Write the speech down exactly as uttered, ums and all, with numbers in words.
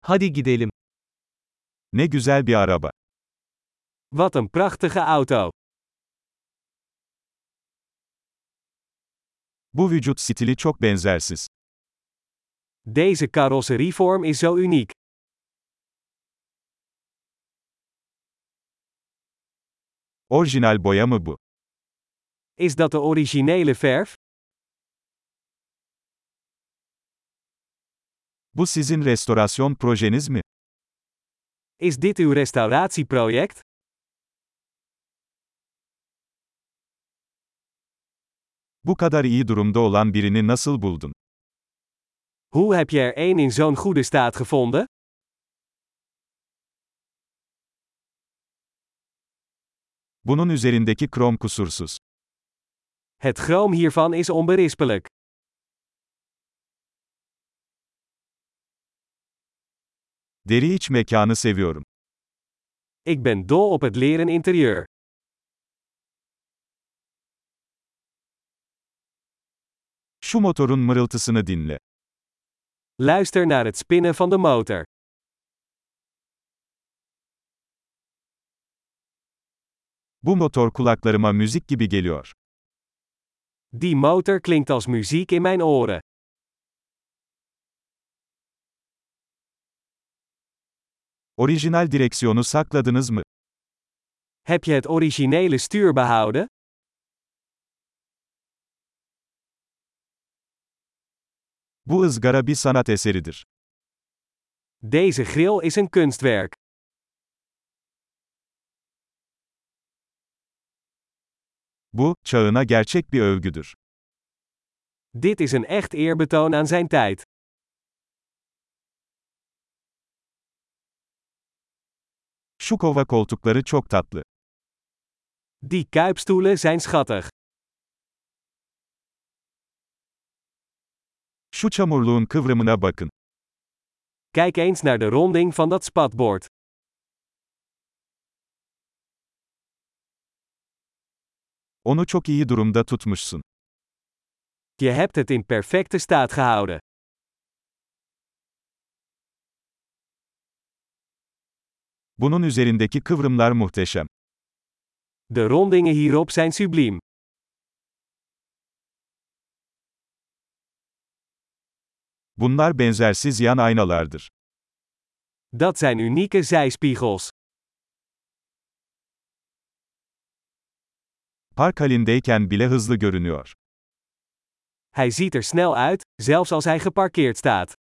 Hadi gidelim. Ne güzel bir araba. Wat een prachtige auto. Bu vücut stili çok benzersiz. Deze carrosserievorm is zo uniek. Orijinal boya mı bu? Is dat de originele verf? Bu sizin restorasyon projeniz mi? Is dit uw restauratieproject? Bu kadar iyi durumda olan birini nasıl buldun? Hoe heb je er één in zo'n goede staat gevonden? Bunun üzerindeki krom kusursuz. Het chroom hiervan is onberispelijk. Deri iç mekanı seviyorum. Ik ben dol op het leren interieur. Şu motorun mırıltısını dinle. Luister naar het spinnen van de motor. Bu motor kulaklarıma müzik gibi geliyor. Die motor klinkt als muziek in mijn oren. Orijinal direksiyonu sakladınız mı? Heb je het originele stuur behouden? Bu ızgara bir sanat eseridir. Deze grill is een kunstwerk. Bu, çağına gerçek bir övgüdür. Dit is een echt eerbetoon aan zijn tijd. Şu kova koltukları çok tatlı. Die kuipstoelen zijn schattig. Şu çamurluğun kıvrımına bakın. Kijk eens naar de ronding van dat spatbord. Onu çok iyi durumda tutmuşsun. Je hebt het in perfecte staat gehouden. Bunun üzerindeki kıvrımlar muhteşem. De rondingen hierop zijn subliem. Bunlar benzersiz yan aynalardır. Dat zijn unieke zijspiegels. Park halindeyken bile hızlı görünüyor. Hij ziet er snel uit, zelfs als hij geparkeerd staat.